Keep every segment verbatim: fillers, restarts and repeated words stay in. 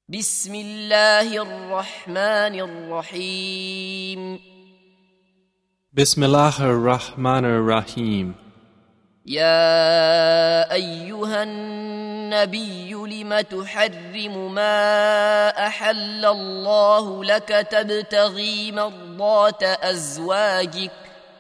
بسم الله الرحمن الرحيم Bismillah ar-Rahman ar-Rahim. يا أيها النبي لم تحرم ما أحل الله لك تبتغي مرضات أزواجك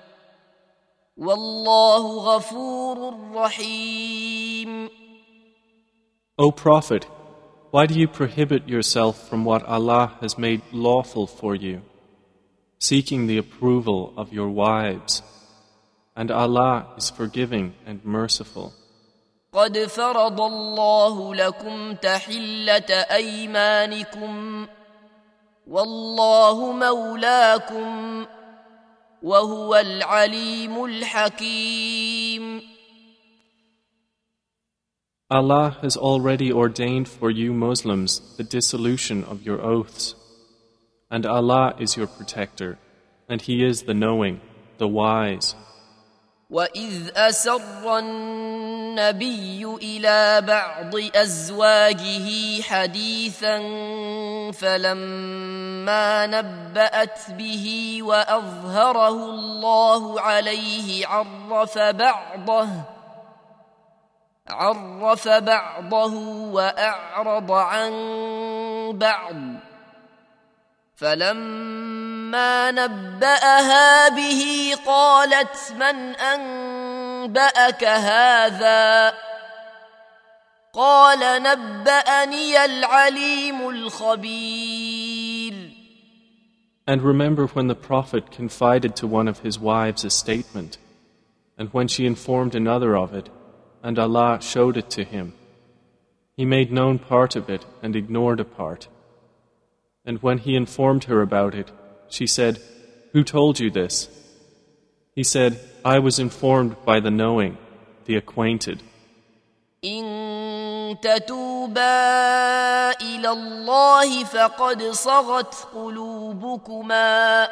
والله غفور رحيم. O Prophet, why do you prohibit yourself from what Allah has made lawful for you, seeking the approval of your wives? And Allah is forgiving and merciful. قد فرض الله لكم تحلة أيمانكم والله مولاكم وهو العليم الحكيم. Allah has already ordained for you Muslims the dissolution of your oaths. And Allah is your protector, and He is the knowing, the wise. وَإِذْ أَسَرَّ النَّبِيُّ إِلَى بَعْضِ أَزْوَاجِهِ حَدِيثًا فَلَمَّا نَبَّأَتْ بِهِ وَأَظْهَرَهُ اللَّهُ عَلَيْهِ عَرَّفَ بَعْضَهُ عَرَّفَ بَعْضَهُ وَأَعْرَضَ عَن بَعْضٍ فلما نبأها به قالت من أنبأك هذا قال نبأني العليم الخبير. And remember when the Prophet confided to one of his wives a statement, and when she informed another of it, and Allah showed it to him. He made known part of it and ignored a part. And when he informed her about it, she said, "Who told you this?" He said, "I was informed by the knowing, the acquainted." إن تتوبا إلى الله فقد صغت قلوبكما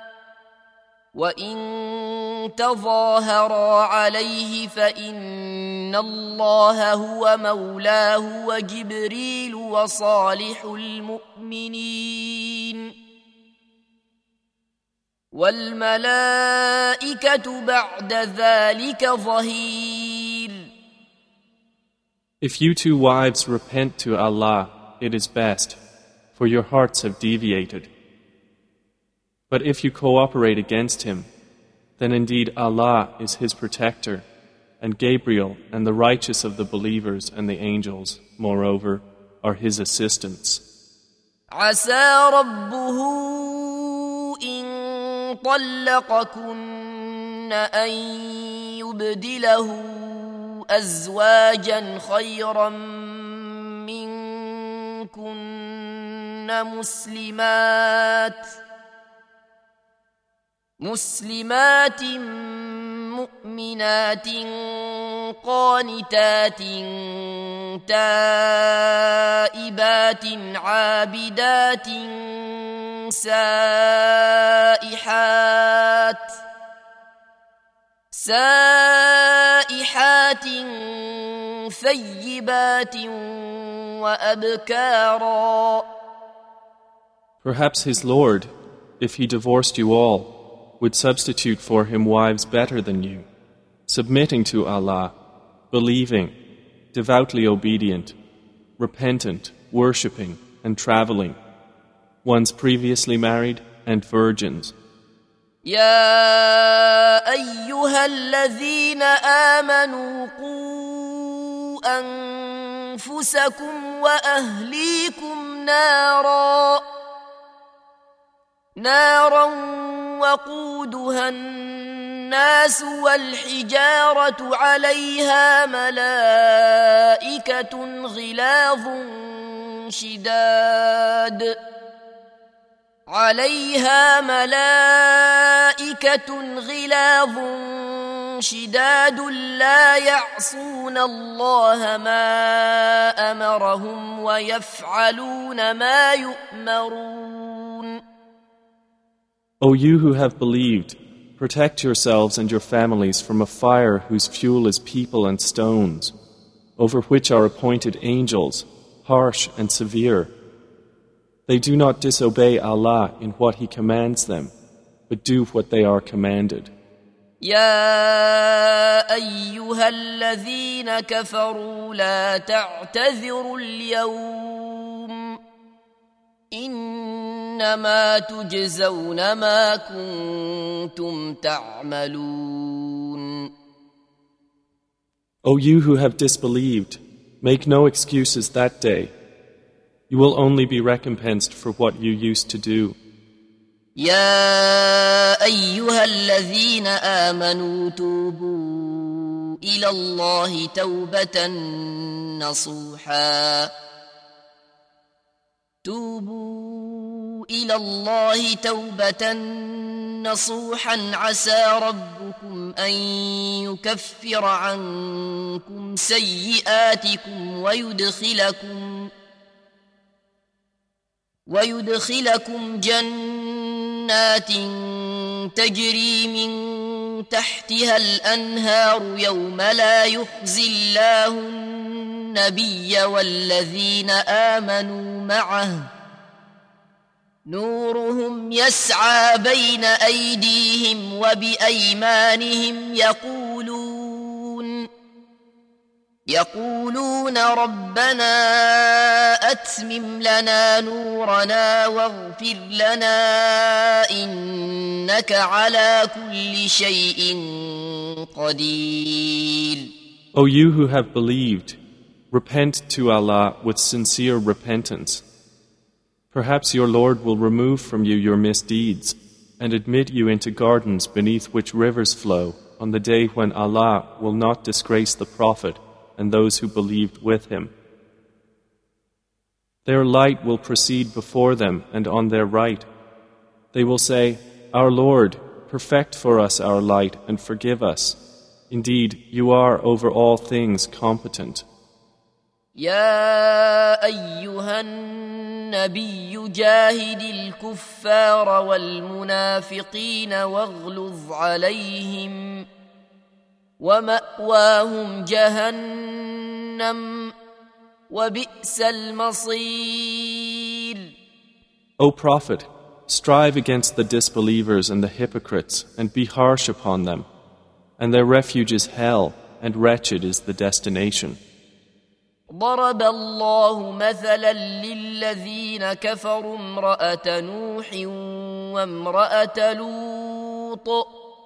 وإن تظاهرا عليه فإن الله هو مولاه وجبريل وصالح المؤمنين والملائكة بعد ذلك ظهير. If you two wives repent to Allah, it is best, for your hearts have deviated. But if you cooperate against him, then indeed Allah is his protector, and Gabriel and the righteous of the believers and the angels, moreover, are his assistants. عسى ربه إن طلقكن أن يبدله أزواجا خيرا منكن مسلمات مسلمات مؤمنات قانتات تائبات عابدات سائحات سائحات ثيبات وأبكارا. Perhaps his Lord, if he divorced you all, would substitute for him wives better than you, submitting to Allah, believing, devoutly obedient, repentant, worshipping, and traveling, ones previously married and virgins. يا أيها الذين آمنوا قوا أنفسكم وأهليكم نارا نارا وقودها الناس والحجارة عليها ملائكة غلاظ شداد عليها ملائكة غلاظ شداد لا يعصون الله ما أمرهم ويفعلون ما يؤمرون. O you who have believed, protect yourselves and your families from a fire whose fuel is people and stones, over which are appointed angels, harsh and severe, They do not disobey Allah in what He commands them, but do what they are commanded. يا أيها الذين كفروا لا تعتذروا اليوم إنما تجزون ما كنتم تعملون. O you who have disbelieved, make no excuses that day. You will only be recompensed for what you used to do. يا أيها الذين آمنوا توبوا إلى الله توبة نصوحا توبوا إلى الله توبة نصوحا عسى ربكم أن يكفر عنكم سيئاتكم ويدخلكم ويدخلكم جنات تجري من تحتها الأنهار يوم لا يخزي الله النبي والذين آمنوا معه نورهم يسعى بين أيديهم وبأيمانهم يقولون يقولون ربنا أتمم لنا نورنا واغفر لنا إنك على كل شيء قدير. O you who have believed, repent to Allah with sincere repentance. Perhaps your Lord will remove from you your misdeeds and admit you into gardens beneath which rivers flow on the day when Allah will not disgrace the Prophet and those who believed with him. Their light will proceed before them and on their right. They will say, Our Lord, perfect for us our light and forgive us. Indeed, you are over all things competent. يا أيها النبي جاهد الكفار والمنافقين واغلظ عليهم ومأواهم جهنم وبئس المصير. O Prophet, strive against the disbelievers and the hypocrites and be harsh upon them, and their refuge is hell, and wretched is the destination. ضرب الله مثلا للذين كفروا امرأة نوح وامرأة لوط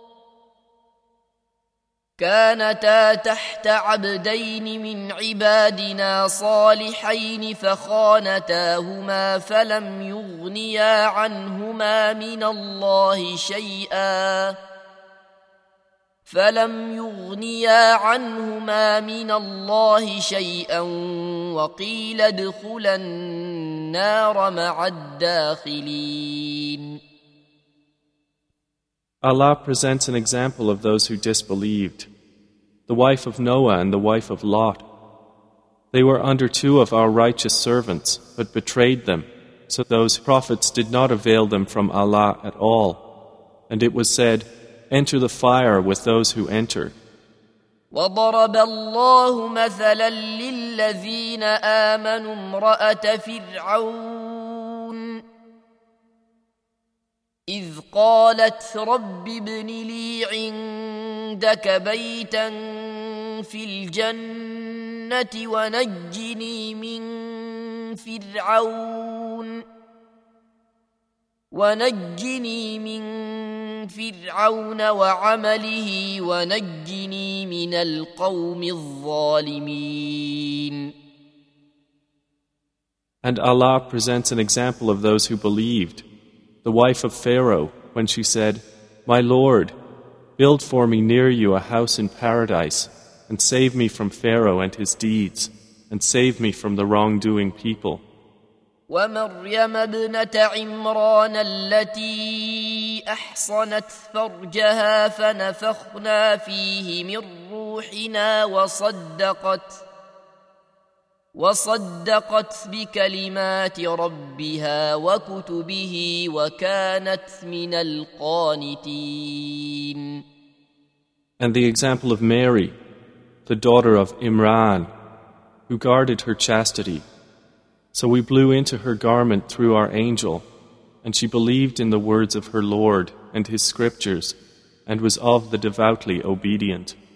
كانتا تحت عبدين من عبادنا صالحين فخانتاهما فلم يغنيا عنهما من الله شيئا فلم يغنيا عنهما من الله شيئا وقيل ادخلا النار مع الداخلين. Allah presents an example of those who disbelieved. The wife of Noah and the wife of Lot. They were under two of our righteous servants, but betrayed them, so those prophets did not avail them from Allah at all. And it was said, Enter the fire with those who enter. وضرب الله مثلا للذين آمنوا امرأة فرعون إذ قالت رب ابن لي عندك بيتا في الجنة ونجني من فرعون ونجني من فرعون وعمله ونجني من القوم الظالمين. And Allah presents an example of those who believed. The wife of Pharaoh, when she said, My Lord, build for me near you a house in paradise, and save me from Pharaoh and his deeds, and save me from the wrongdoing people. ومريم ابنة عمران التي أحصنت فرجها فنفخنا فيه من روحنا وصدقت وصدقت بكلمات ربها وكتبه وكانت من القانتين. And the example of Mary, the daughter of Imran, who guarded her chastity, So we blew into her garment through our angel, and she believed in the words of her Lord and His scriptures, and was of the devoutly obedient.